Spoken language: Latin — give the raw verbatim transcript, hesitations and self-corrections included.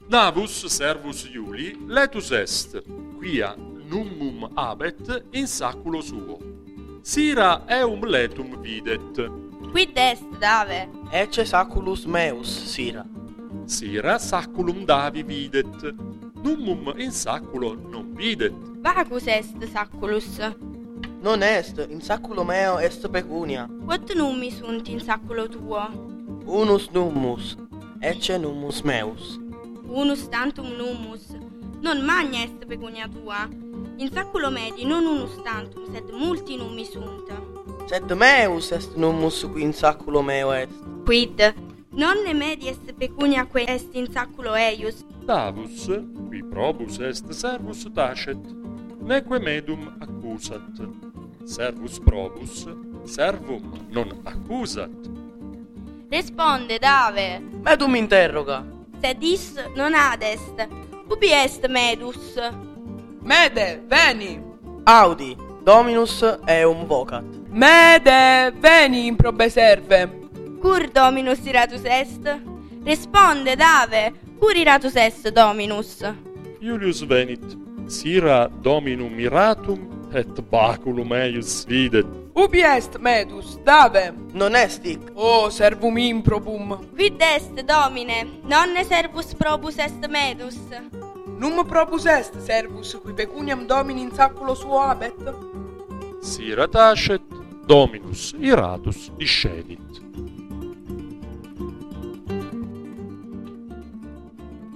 Navus servus Iuli letus est, quia nummum habet in saculo suo. Sira eum letum videt. Quid est, Dave? Ecce saculus meus, sira. Sira saculum Davi videt. Nummum in saculo non videt. Vacus est saculus. Non est, in saculo meo est pecunia. Quod nummi sunt in saculo tuo? Unus nummus, ecce nummus meus. Unus tantum nummus. Non magna est pecunia tua. In saculo medi non unus tantum, sed multi nummi sunt. Sed meus est nummus qui in saculo meo est. Quid? Nonne medi est pecunia que est in saculo eius. Davus, qui probus est servus tacet, neque medum accusat. Servus probus, servum non accusat. Responde, Dave. Medum interroga. Sed is non ad est. Ubi est medus? Mede, veni! Audi, Dominus eum vocat. Mede, veni in probe serve! Cur Dominus iratus est? Responde, Dave. Cur iratus est, Dominus? Iulius venit, sira Dominum iratum, et baculum eius videt. Ubi est medus, Dave? Non est hic. O servum improbum. Quid est, Domine? Nonne servus probus est medus. Num probus est servus qui pecuniam Domini in saculo suo habet? Sira tacet, Dominus iratus discedit.